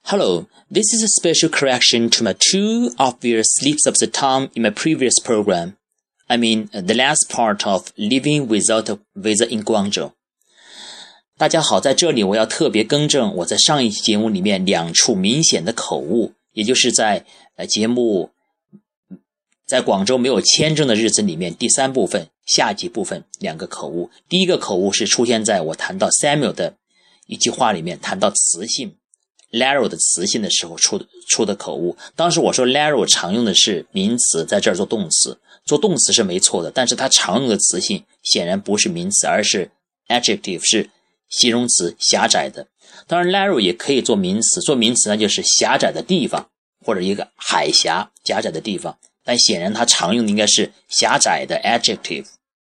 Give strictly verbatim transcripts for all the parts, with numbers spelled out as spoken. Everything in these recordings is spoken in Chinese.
Hello, this is a special correction to my two obvious slips of the tongue in my previous program. I mean, the last part of living without a visa in Guangzhou. 大家好，在这里我要特别更正我在上一期节目里面两处明显的口误，也就是在呃节目在广州没有签证的日子里面第三部分下集部分两个口误。第一个口误是出现在我谈到 Samuel 的一句话里面，谈到词性 Larry 的词性的时候出的出的口误。当时我说 Larry 常用的是名词，在这儿做动词，做动词是没错的，但是它常用的词性显然不是名词，而是 adjective， 是形容词，狭窄的。当然 Larry 也可以做名词，做名词呢就是狭窄的地方，或者一个海峡狭窄的地方，但显然它常用的应该是狭窄的 adjective。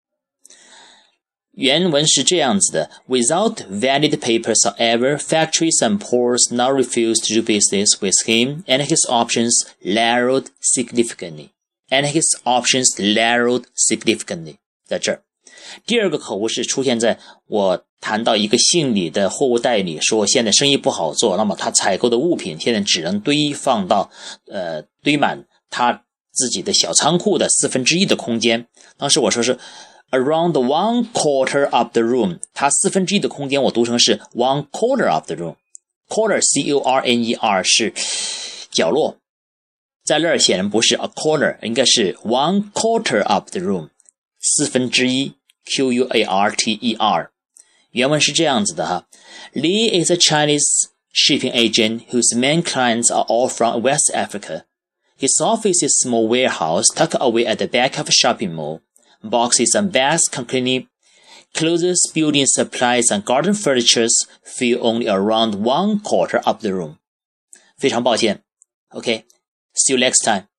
原文是这样子的 Without valid papers, however, factories and ports now refuse to do business with him, and his options narrowed significantly. And his options narrowed significantly. 在这儿第二个口误是出现在我谈到一个姓李的货物代理说现在生意不好做，那么他采购的物品现在只能堆放到呃堆满他自己的小仓库的四分之一的空间。当时我说是 around one quarter of the room， 它四分之一的空间我读成是 one quarter of the room， quarter C O R N E R 是角落，在那儿显然不是 a quarter， 应该是 one quarter of the room， 四分之一 Q U A R T E R。 原文是这样子的哈 Lee is a Chinese shipping agent whose main clients are all from West Africa.His office is a small warehouse tucked away at the back of a shopping mall. Boxes and bags containing clothes, building supplies, and garden furnitures fill only around one quarter of the room. 非常抱歉 OK, see you next time.